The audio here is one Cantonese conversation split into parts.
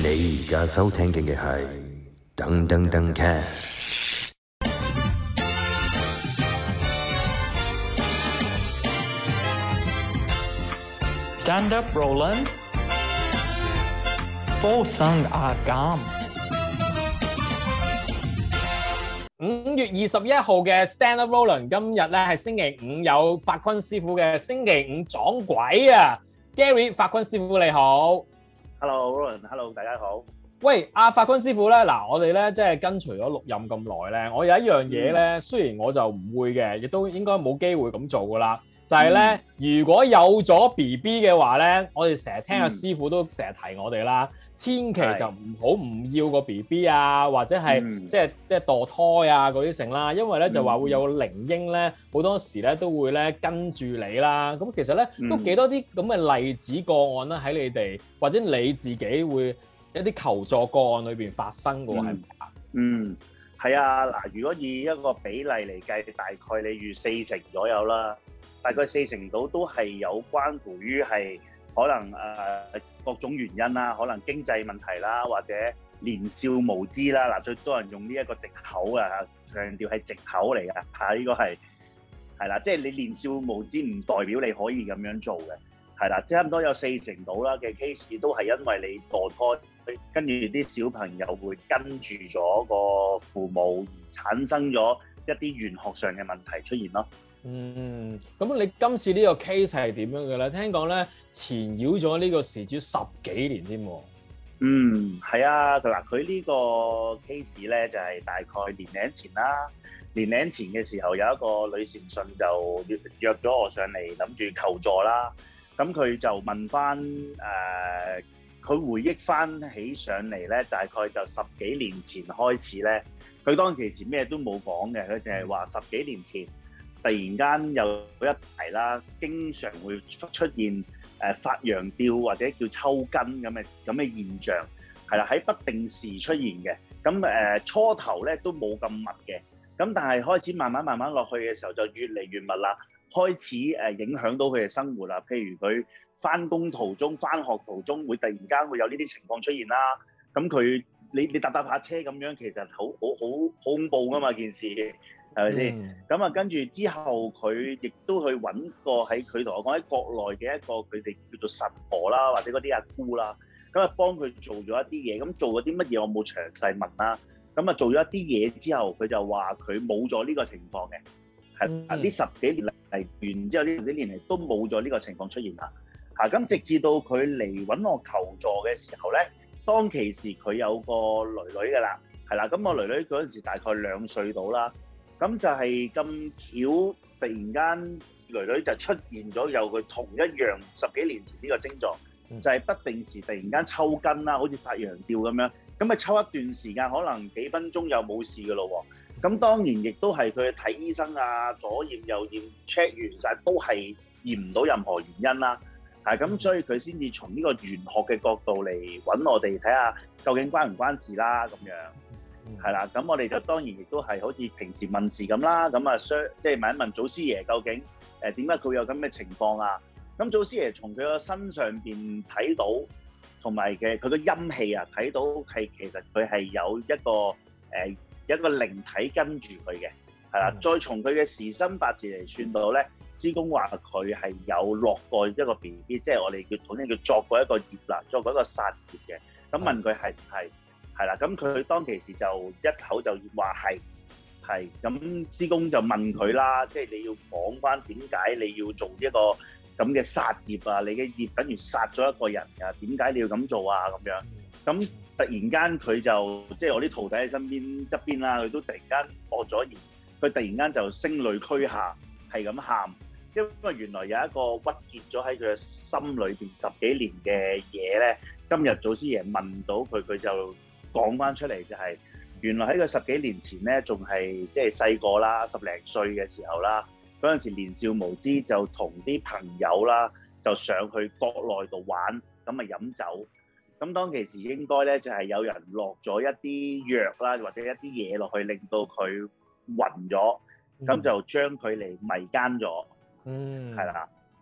你而家收聽嘅係噔噔噔 cast。 Stand up, Roland。附送阿減。 5月21號嘅 Stand up, Roland， 今日咧係星期五，有法坤師傅嘅星期五撞鬼啊 ！Gary， 法坤師傅你好。 Hello Roland，Hello 大家好。 喂，阿法坤師傅咧，嗱，我哋咧即係跟隨咗錄音咁耐咧，我有一樣嘢咧，雖然我就唔會嘅，亦都應該冇機會咁做噶啦，就係咧，如果有咗 BB 嘅話咧，我哋成日聽阿師傅都成日提我哋啦，千祈就唔要個 BB 啊，或者係即係墮胎啊嗰啲成啦，因為咧就話會有個靈嬰咧，好多時咧都會咧跟住你啦。咁其實咧都幾多啲咁嘅例子個案啦，喺你哋或者你自己會一啲求助個案裏邊發生嘅喎，係咪啊？ 係啊，嗱，如果以一個比例嚟計，大概你預40%左右啦，大概40%到都係有關乎於係可能各種原因啦，可能經濟問題啦，或者年少無知啦，嗱，最多人用呢一個藉口啊，強調係藉口嚟㗎嚇，呢個係啦，即係你年少無知唔代表你可以咁樣做嘅，係啦，差唔多有40%到啦嘅 case 都係因為你墮胎。跟住啲小朋友會跟住咗個父母，而產生咗一啲玄學上嘅問題出現咯。 咁你今次呢個 case 係點樣嘅咧？聽講咧纏繞咗呢個事主10幾年添喎。 係啊，嗱，佢呢個 case 咧就係大概年零前啦。年零前嘅時候有一個女善信就約咗我上嚟，諗住求助啦。咁佢就問翻佢回憶翻起上嚟咧，大概就10幾年前開始咧，佢當其時咩都冇講嘅，佢淨係話10幾年前突然間有一題啦，經常會出現發羊吊或者叫抽筋咁嘅現象，係啦，喺不定時出現嘅。咁初頭咧都冇咁密嘅，咁但係開始慢慢落去嘅時候就越嚟越密啦，開始影響到佢嘅生活啦，譬如佢翻工途中、翻學途中會突然間會有呢啲情況出現啦。咁你搭下車咁樣，其實好恐怖噶嘛件事，係咪先？咁跟住之後，佢亦都去揾過佢同我講喺國內嘅一個佢哋叫做神婆啦，或者嗰啲阿姑啦，咁幫佢做咗一啲嘢。咁做咗啲乜嘢我冇詳細問啦。咁做咗一啲嘢之後，佢就話佢冇咗呢個情況嘅。係呢10幾年嚟完之後，呢10幾年嚟都冇咗呢個情況出現啦。咁直至到佢嚟揾我求助嘅時候咧，當其時佢有個女㗎啦，係啦，咁我女嗰陣時大概2歲到啦，咁就係咁巧，突然間女就出現咗有佢同一樣10幾年前呢個症狀，就係不定時突然間抽筋啦，好似發羊吊咁樣，咁抽一段時間，可能幾分鐘又冇事㗎咯喎，咁當然亦都係佢睇醫生啊，左驗右驗 check 完晒都係驗唔到任何原因啦。咁所以佢先至從呢個玄學嘅角度嚟揾我哋睇下究竟關唔關事啦咁樣，係啦。咁我哋就當然亦都係好似平時問事咁啦，咁即係問一問祖師爺究竟點解佢有咁嘅情況啊？咁祖師爺從佢個身上邊睇到，同埋佢個陰氣啊睇到係其實佢係有一個靈體跟住佢嘅，係啦。再從佢嘅時辰八字嚟算到咧。師公話佢係有落過一個 BB， 即係我哋統稱叫作過一個業啦，作過一個殺業嘅。咁問佢係唔係？係啦，咁佢當其時就一口就話係。咁師公就問佢啦，即係你要講翻點解你要做一個咁嘅殺業啊？你嘅業等於殺咗一個人啊？點解你要咁做啊？咁樣咁突然間佢就即係我啲徒弟喺身邊側邊啦，佢都突然間惡咗言，佢突然間就聲淚俱下，係咁喊。因為原來有一個鬱結咗喺佢嘅心裏邊10幾年嘅嘢咧，今日祖師爺問到佢，佢就講翻出嚟，就係原來喺佢10幾年前咧，仲係即係細個啦，10零歲嘅時候啦，嗰陣時年少無知，就同啲朋友啦，就上去國內度玩，咁飲酒。咁當其時應該咧就係有人落咗一啲藥啦，或者一啲嘢落去，令到佢暈咗，咁就將佢嚟迷姦咗。係啦，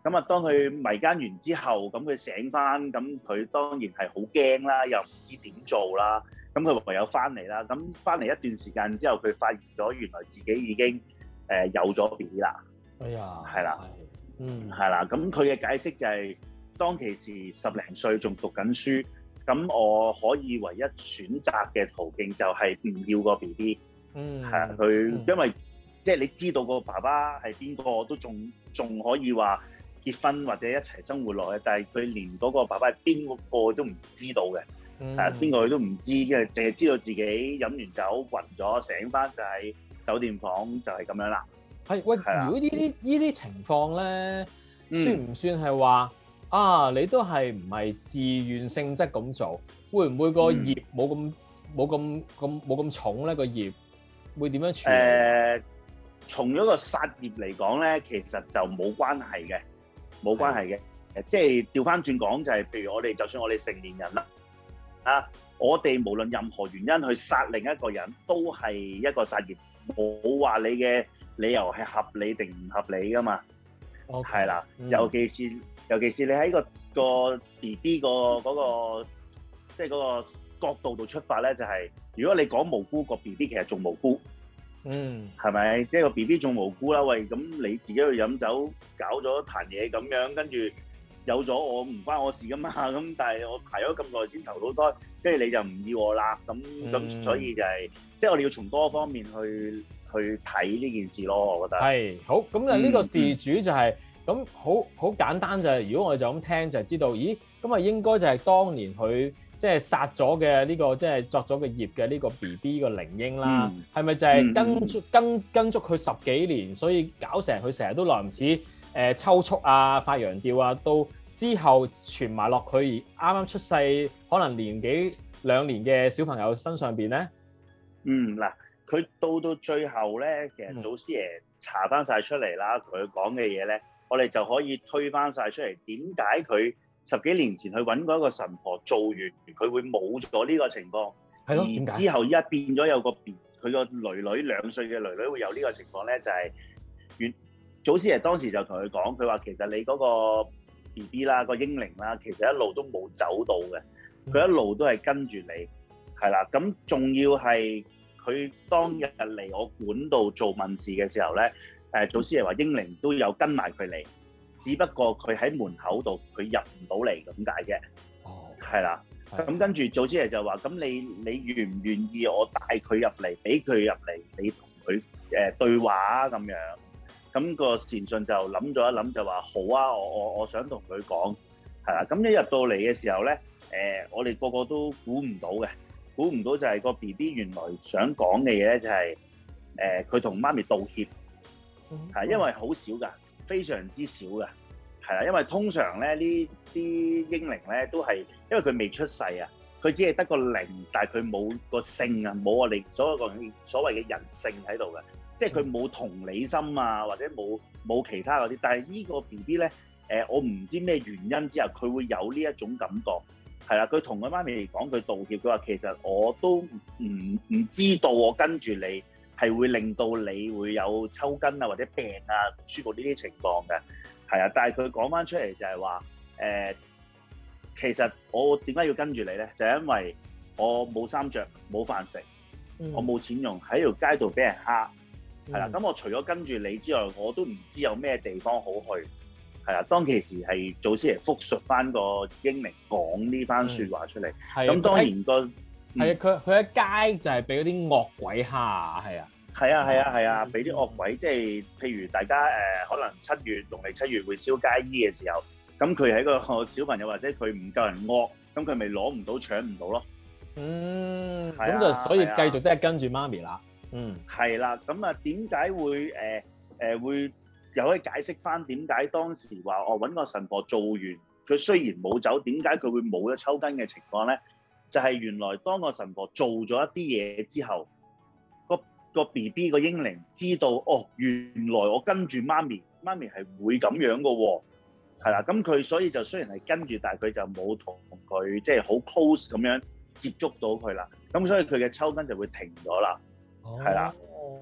咁啊，當佢迷姦完之後，咁佢醒翻，咁佢當然係好驚啦，又唔知點做啦。咁佢唯有翻嚟啦。咁翻嚟一段時間之後，佢發現咗原來自己已經有咗 BB 啦。 哎呀， 係啦，係啦。咁佢嘅解釋就係、當其時10零歲仲讀緊書，咁我可以唯一選擇嘅途徑就係唔要個 BB。係啊，佢因為即係你知道個爸爸係邊個，都仲可以話結婚或者一齊生活落去，但係佢連嗰個爸爸係邊個都唔知道嘅，邊個佢都唔知，因為淨係知道自己飲完酒暈咗，醒翻就喺酒店房，就係咁樣啦。 係喂，如果呢啲情況咧，算唔算係話啊？你都係唔係自願性質咁做？會唔會個業冇咁重咧？個業會點樣處理？ 從咗個殺業嚟講咧，其實就冇關係嘅，冇關係嘅。即係調翻轉講，就係譬如我哋，就算我哋成年人啦，我哋無論任何原因去殺另一個人，都係一個殺業，冇話你嘅理由係合理定唔合理噶嘛。係啦，尤其是你喺個 BB 嗰個即係嗰個角度度出發咧，就係如果你講無辜，個 BB 其實仲無辜。係咪？即係個 BB 仲無辜啦。喂，咁你自己去飲酒搞咗壇嘢咁樣，跟住有咗我唔關我事噶嘛。咁但係我排咗咁耐先投到胎，跟住你就唔要我啦。咁所以就係即係我哋要從多方面去睇呢件事咯。我覺得係好。咁啊呢個事主就係咁好簡單就係，如果我哋就咁聽就係知道，咦咁啊應該就係當年佢即係殺咗嘅呢個即係作咗個業嘅呢個 BB 個靈嬰啦，係咪就係跟足佢10幾年，所以搞成佢成日都來唔切抽搐啊、發羊吊啊，到之後傳埋落佢啱啱出世可能年幾2年嘅小朋友身上邊咧？嗱，佢到最後咧，其實祖師爺查翻晒出嚟啦，佢講嘅嘢咧，我哋就可以推翻晒出嚟。點解佢10幾年前去揾嗰個神婆做完，佢會冇咗呢個情況？係咯，點解？而之後依家變咗有個佢個女2歲嘅女會有呢個情況咧？就係祖師爺當時就同佢講，佢話其實你嗰個 BB 啦，個嬰靈啦，其實一路都冇走到嘅，佢一路都係跟住你，係啦。咁仲要係佢當日嚟我館度做問事嘅時候咧，祖師爺話嬰靈都有跟埋佢嚟。只不過佢喺門口度，佢入唔到嚟咁解啫。係啦。咁跟住祖師爺就話：咁你願唔願意我帶佢入嚟，俾佢入嚟，你同佢對話啊咁樣？咁個善信就諗咗一諗，就話好啊，我想同佢講，係啦。咁一入到嚟嘅時候咧，我哋個個都估唔到嘅，估唔到就係個 BB 原來想講嘅嘢咧，就係佢同媽咪道歉，係因為好少㗎。非常之少嘅，係啦，因為通常咧呢啲嬰靈咧都係因為佢未出世啊，佢只係得個靈，但係佢冇個性啊，冇我哋所謂嘅人性喺度嘅，即係佢冇同理心啊，或者冇其他嗰啲。但係呢個 BB 咧，我唔知咩原因之後，佢會有呢一種感覺，係啦，佢同佢媽咪嚟講，佢道歉，佢話其實我都唔知道我跟住你係會令到你會有抽筋啊或者病啊唔舒服呢啲情況嘅，係啊，但係佢講翻出嚟就係話其實我點解要跟住你咧？就係因為我冇衫着冇飯食，我冇錢用，喺條街度俾人蝦，係啦。咁我除咗跟住你之外，我都唔知有咩地方好去，係啦。當其時係祖師爺復述翻個嬰靈講呢番説話出嚟，咁當然個。係啊，佢喺街就係俾嗰啲惡鬼蝦啊，係啊，係啊，俾啲惡鬼，即係譬如大家可能農曆7月會燒街衣嘅時候，咁佢係一個小朋友或者佢唔夠人惡，咁佢咪攞唔到搶唔到咯。 咁就所以繼續都係跟住媽咪啦。 係啦，咁啊點解會又可以解釋翻點解當時話我揾個神婆做完，佢雖然冇走，點解佢會冇咗抽筋嘅情況咧？就係原來當個神婆做咗一啲嘢之後，個 BB 個嬰靈知道原來我跟住媽咪係會咁樣噶喎，係啦，咁佢所以就雖然係跟住，但係佢就冇同佢即係好 close 咁樣接觸到佢啦，咁所以佢嘅抽筋就會停咗啦，係啦。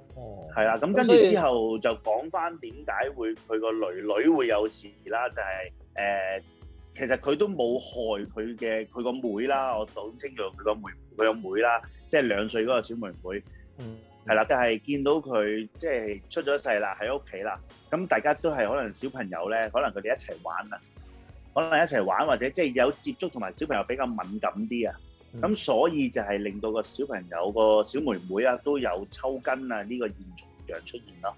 哦， 係啦，咁跟住之後就講翻點解會佢個女會有事啦，就係其實佢都冇害佢個妹啦，我好清楚佢個妹啦，即係2歲嗰個小妹妹，係啦，但係見到佢即係出咗世啦，喺屋企啦，咁大家都係可能小朋友咧，可能佢哋一齊玩啦，可能一齊玩或者即係有接觸同埋小朋友比較敏感啲啊，咁所以就係令到個小朋友個小妹妹啊都有抽筋啊呢個現象出現咯。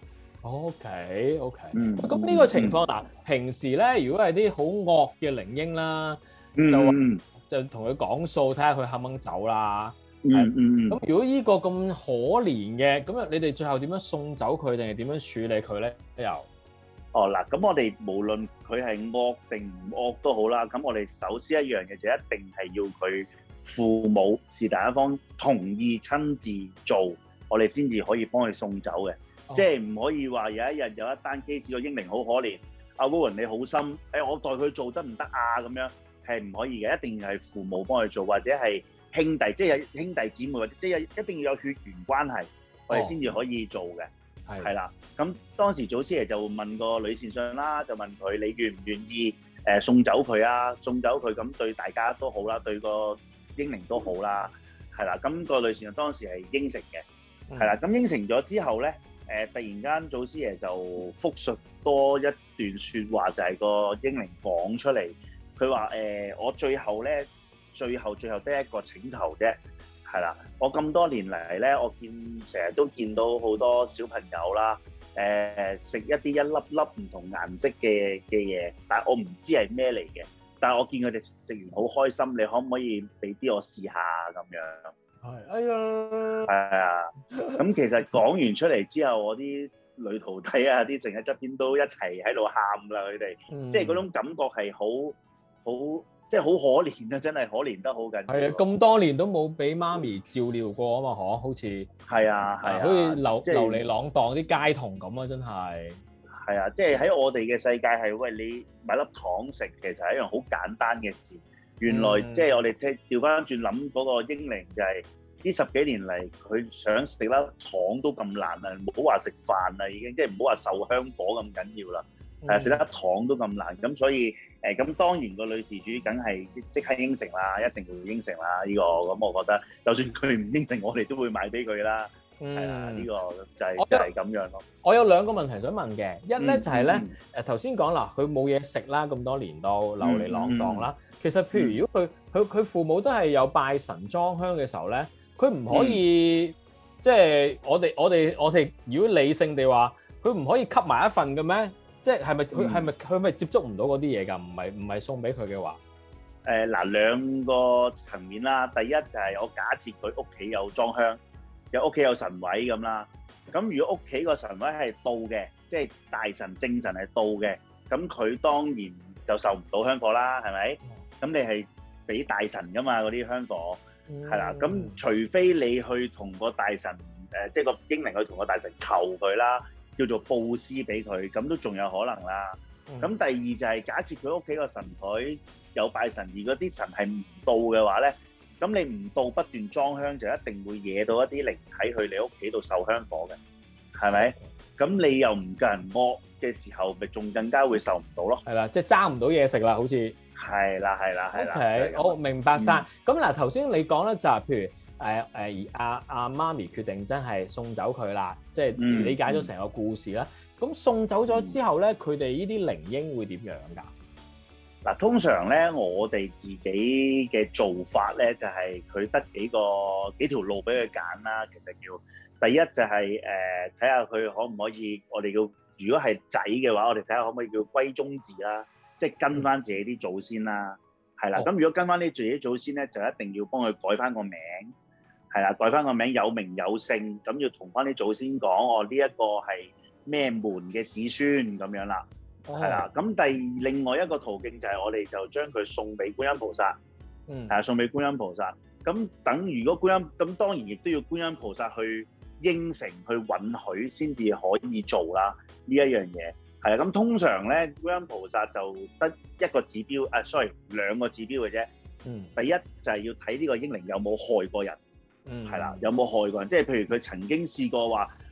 OK，咁呢個情況嗱，平時咧如果係啲好惡嘅靈嬰啦，就同佢講數，睇下佢肯唔肯走啦。咁如果呢個咁可憐嘅，咁你哋最後點樣送走佢，定係點樣處理佢咧？又嗱，咁我哋無論佢係惡定唔惡都好啦，咁我哋首先一樣嘢就一定係要佢父母是但一方同意親自做，我哋先至可以幫佢送走嘅。即係唔可以話有一日有一單 case 個英靈好可憐，阿 Warren 你好心，我代佢做得唔得啊？咁樣係唔可以嘅，一定係父母幫佢做，或者係兄弟，即係有兄弟姊妹，或者即係一定要有血緣關係，我哋先至可以做嘅。係啦，咁當時祖師爺就問個女善信啦，就問佢你願唔願意送走佢啊？送走佢咁對大家都好啦，對個英靈都好啦，係啦。咁個女善信當時係應承嘅，係啦。咁應承咗之後咧。突然間，祖師爺就復述多一段説話，就係個英靈講出嚟。佢話：我最後得一個請求啫，係啦。我咁多年嚟咧，我成日都見到好多小朋友啦，食一啲一粒粒唔同顏色嘅嘢，但係我唔知係咩嚟嘅。但係我見佢哋食完好開心，你可唔可以俾啲我試下咁樣？係啊，咁其實講完出嚟之後，我啲女徒弟啊，啲成日側邊都一齊喺度喊啦，佢哋，即係嗰種感覺係好，即係好可憐啊！真係可憐得好緊要。係啊， 咁多年都冇俾媽咪照料過啊嘛，好似係啊， 好似流離浪蕩啲街童咁啊，真係。 係啊，即係喺我哋嘅世界係，喂，你買粒糖食，其實係一樣好簡單嘅事。原來即係我哋調翻轉諗嗰個英靈就係呢10幾年嚟，佢想食粒糖都咁難啊！唔好話食飯啦，已經即係唔好話受香火咁緊要啦。係啊，食粒糖都咁難，咁所以咁當然個女事主梗係即刻應承啦，一定會應承啦呢個。咁我覺得，就算佢唔應承，我哋都會買俾佢啦。係啊，呢個就係咁樣咯。 我有2個問題想問嘅，一咧就係咧頭先講啦，佢冇嘢食啦，咁多年都流離浪蕩啦。其實譬如如果佢父母都係有拜神裝香嘅時候咧，佢唔可以即係我哋如果理性地話，佢唔可以吸埋一份嘅咩？即係佢咪接觸唔到嗰啲嘢㗎？唔係送俾佢嘅話， 嗱2個層面啦。第一就係我假設佢屋企有裝香，屋企有神位咁啦。咁如果屋企個神位係到嘅，即係大神正神係到嘅，咁佢當然就受唔到香火啦，係咪？咁你係俾大神㗎嘛，嗰啲香火係啦。咁除非你去同個大神即係個英靈去同個大神求佢啦，叫做佈施俾佢，咁都仲有可能啦。咁第二就係假設佢屋企個神台有拜神，而嗰啲神係唔到嘅話咧，咁你唔到不斷裝香，就一定會惹到一啲靈體去你屋企度受香火嘅，係咪？咁你又唔夠人惡嘅時候，咪仲更加會受唔到咯。 係啦，即係爭唔到嘢食啦，好似。 係啦。 OK，好明白晒。咁嗱，頭先你講咧就係譬如阿媽咪決定真係送走佢啦，即係理解咗成個故事啦。咁送走咗之後咧，佢哋呢啲靈嬰會點樣㗎？ 嗱，通常咧，我哋自己嘅做法咧，就係佢得幾條路俾佢揀啦。其實叫第一就係睇下佢可唔可以，我哋叫如果係仔嘅話，我哋睇下可唔可以叫歸宗字啦，即係跟翻自己啲祖先啦，係啦。咁如果跟翻啲自己祖先咧，就一定要幫佢改翻個名，係啦，改翻個名有名有姓，咁要同翻啲祖先講，呢一個係咩門嘅子孫咁樣啦。係啦，咁另外一個途徑就係我哋就將佢送俾觀音菩薩，送俾觀音菩薩。咁如果觀音，咁當然亦都要觀音菩薩去應承、去允許先至可以做啦。呢一樣嘢係啦。咁通常咧，觀音菩薩就得一個指標，2個指標嘅啫。第一就係要睇呢個英靈有冇害過人，係啦，有冇害過人，即係譬如佢曾經試過話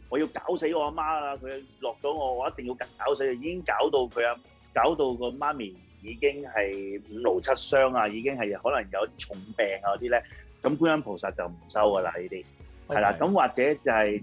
我要搞死我阿媽啦！佢落咗我一定要搞死佢，已經搞到個媽咪已經係五勞七傷啊，已經係可能有啲重病啊嗰啲咧，咁觀音菩薩就唔收噶啦呢啲，係啦，咁或者就係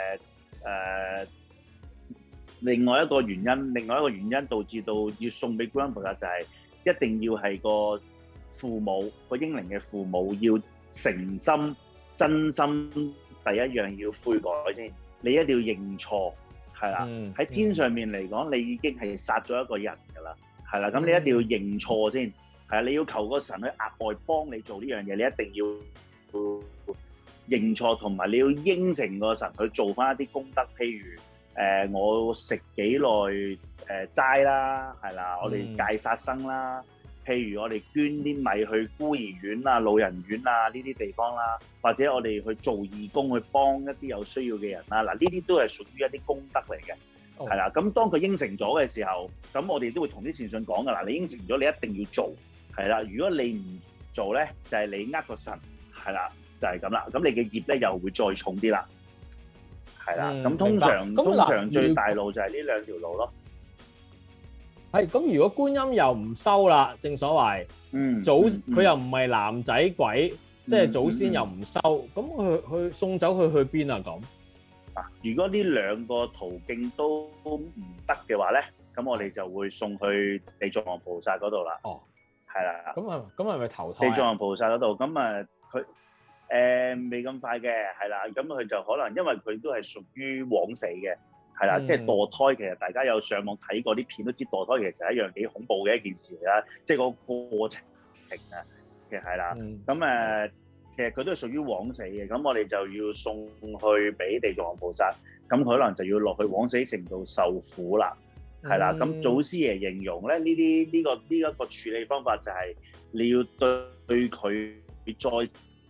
另外一個原因導致到要送俾觀音菩薩就係一定要係個父母個英靈嘅父母要誠心真心，第一樣要悔改先，你一定要認錯，係啦，喺天上面嚟講，你已經係殺咗一個人㗎啦，係啦，咁你一定要認錯先，係啊，你要求個神去額外幫你做呢樣嘢，你一定要認錯，同埋你要應承個神去做翻一啲功德，譬如我食幾耐齋啦，係啦，我哋戒殺生啦，譬如我哋捐啲米去孤兒院啊、老人院啊呢啲地方啦，或者我哋去做義工去幫一啲有需要嘅人啦，嗱呢啲都係屬於一啲功德嚟嘅，係啦。咁當佢應承咗嘅時候，咁我哋都會同啲善信講㗎啦，你應承咗你一定要做，係啦。如果你唔做咧，就係你呃個神，係啦，就係咁啦。咁你嘅業咧又會再重啲啦。係啦，咁通常最大路就係呢兩條路咯。 係咁，如果觀音又唔收啦，正所謂，佢又唔係男仔鬼，即係祖先又唔收，咁佢送走佢去邊啊？咁嗱，如果呢兩個途徑都唔得嘅話咧，咁我哋就會送去地藏王菩薩嗰度啦。哦，係啦。咁係咪投胎？ 地藏王菩薩嗰度，咁啊佢。未咁快嘅，係啦，咁佢就可能因為佢都係屬於枉死嘅，係啦，即係墮胎。其實大家有上網睇過啲片都知墮胎其實係一樣幾恐怖嘅一件事嚟啦，即係個過程啊，其實係啦。咁其實佢都係屬於枉死嘅，咁我哋就要送去俾地藏王菩薩，咁可能就要落去枉死城度受苦啦，係啦。咁祖師爺形容咧，呢一個處理方法就係你要對佢再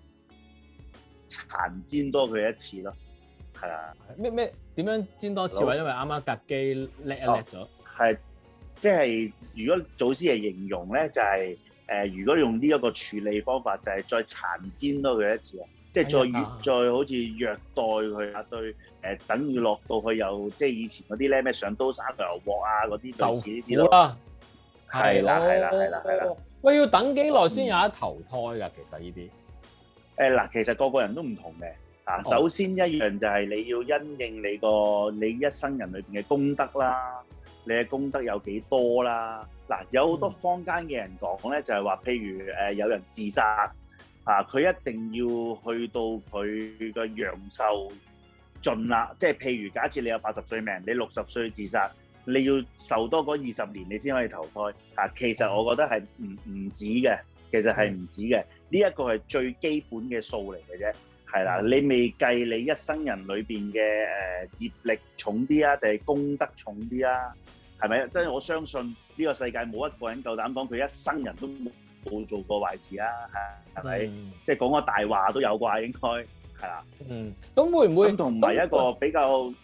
殘煎多佢一次咯，係啊。 點樣煎多次？因為啱啱格機叻咗。 係，即係如果祖師爺形容咧，就係如果用呢一個處理方法，就係再殘煎多佢一次啊！即係再好似虐待佢啊，對等於落到去又即係以前嗰啲咧咩上刀山油鑊啊嗰啲類似呢啲咯。係啦。 喂，要等幾耐先有得投胎㗎？其實呢啲。 嗱，其實個個人都唔同嘅。首先一樣就係你要因應你一生人裏邊嘅功德啦，你嘅功德有幾多啦？嗱，有好多坊間嘅人講咧，就係話，譬如有人自殺佢一定要去到佢嘅陽壽盡啦，即係譬如假設你有80歲命，你60歲自殺，你要受多嗰20年你先可以投胎。其實我覺得係唔止嘅，其實係唔止嘅。呢一個係最基本嘅數嚟嘅啫，係啦，你未計你一生人裏邊嘅業力重啲啊，定係功德重啲啊？係咪？即係我相信呢個世界冇一個人夠膽講佢一生人都冇做過壞事啊，係咪？即係講個大話都有啩，應該係啦。 咁會唔會？ 咁同埋一個比較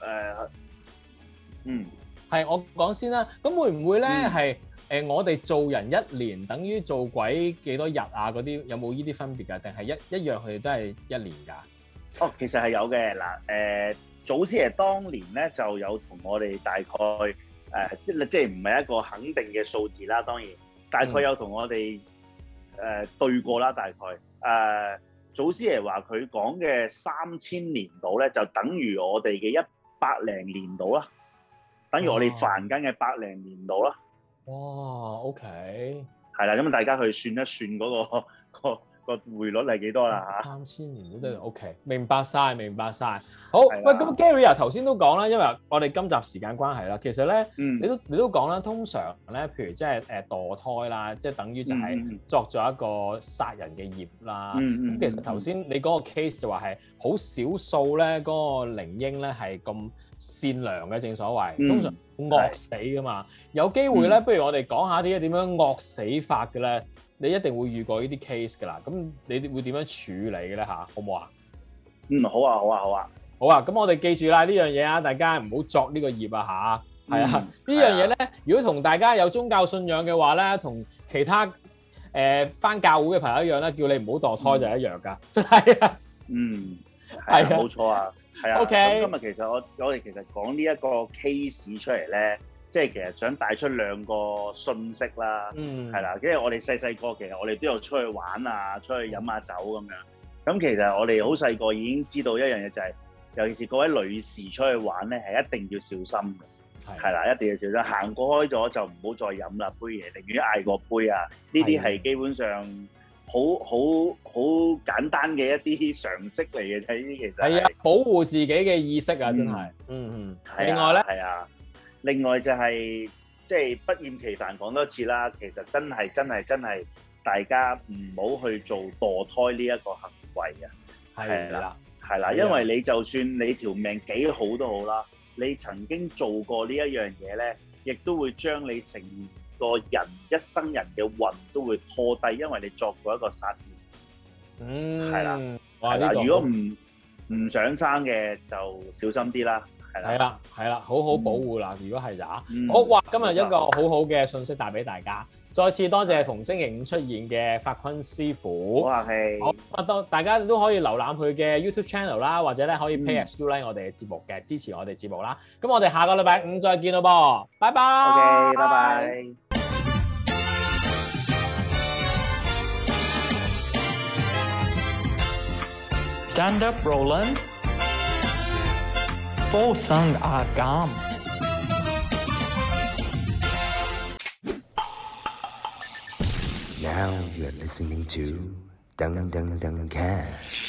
係我講先啦。咁會唔會咧係？我哋做人1年等於做鬼幾多日啊？嗰啲有冇呢啲分別㗎？定係一樣佢哋都係1年㗎？ 哦，其實係有嘅。嗱，祖師爺當年咧就有同我哋大概即係唔係一個肯定嘅數字啦。當然，大概有同我哋對過啦。大概祖師爺話佢講嘅3000年度咧，就等於我哋嘅100零年度啦，等於我哋凡間嘅100零年度啦。 哇 ，OK， 係啦，咁大家去算一算嗰個匯率係幾多啦嚇 ？3000年都得 OK，明白晒。好，喂，咁 Gary 啊，頭先都講啦，因為我哋今集時間關係啦，其實咧，你都講啦，通常咧，譬如即係墮胎啦，即係等於就係作咗一個殺人嘅業啦。咁其實頭先你嗰個 case 就話係好少數咧，嗰個靈嬰咧係咁善良嘅，正所謂，通常惡死噶嘛。有機會咧，不如我哋講下啲點樣惡死法嘅咧？你一定會遇過呢啲 case 噶啦。咁你會點樣處理嘅咧？嚇，好唔好啊？ 好啊。 好啊，咁我哋記住啦呢樣嘢啊，大家唔好作呢個業啊嚇。係啊，呢樣嘢咧，如果同大家有宗教信仰嘅話咧，同其他返教會嘅朋友一樣咧，叫你唔好墮胎就一樣噶，真係啊。 係啊，冇錯啊，係啊。 OK， 咁今日其實我哋其實講呢一個 case 出嚟咧，即係其實想帶出兩個訊息啦，係啦，因為我哋細細個其實我哋都有出去玩啊，出去飲下酒咁樣。咁其實我哋好細個已經知道一樣嘢就係，尤其是各位女士出去玩咧，係一定要小心嘅，係啦，一定要小心。行過開咗就唔好再飲啦，杯嘢，寧願嗌個杯啊。呢啲係基本上好簡單嘅一啲常識嚟嘅啫。呢啲其實係啊， 保護自己嘅意識啊，真係。另外咧， 係啊，另外就係即係不厭其煩講多次啦。其實真係大家唔好去做墮胎呢一個行為啊。係啦，因為你就算你條命幾好都好啦，你曾經做過呢一樣嘢咧，亦都會將你成個人一生人嘅運都會拖低，因為你作過一個殺業。係啦，如果唔想生嘅就小心啲啦。係啦，好好保護啦。如果係好哇，今日一個好好嘅信息帶俾大家。再次多謝逢星期五出現嘅法坤師傅。好客氣。好，大家都可以瀏覽佢嘅 YouTube channel 啦，或者咧可以 pay as you like 我哋嘅節目嘅，支持我哋節目啦。咁我哋下個禮拜五再見咯噃，拜拜。OK， 拜拜。 Stand up, Roland. 附送阿減。 Now you're listening to Dung Dung Dung Cat.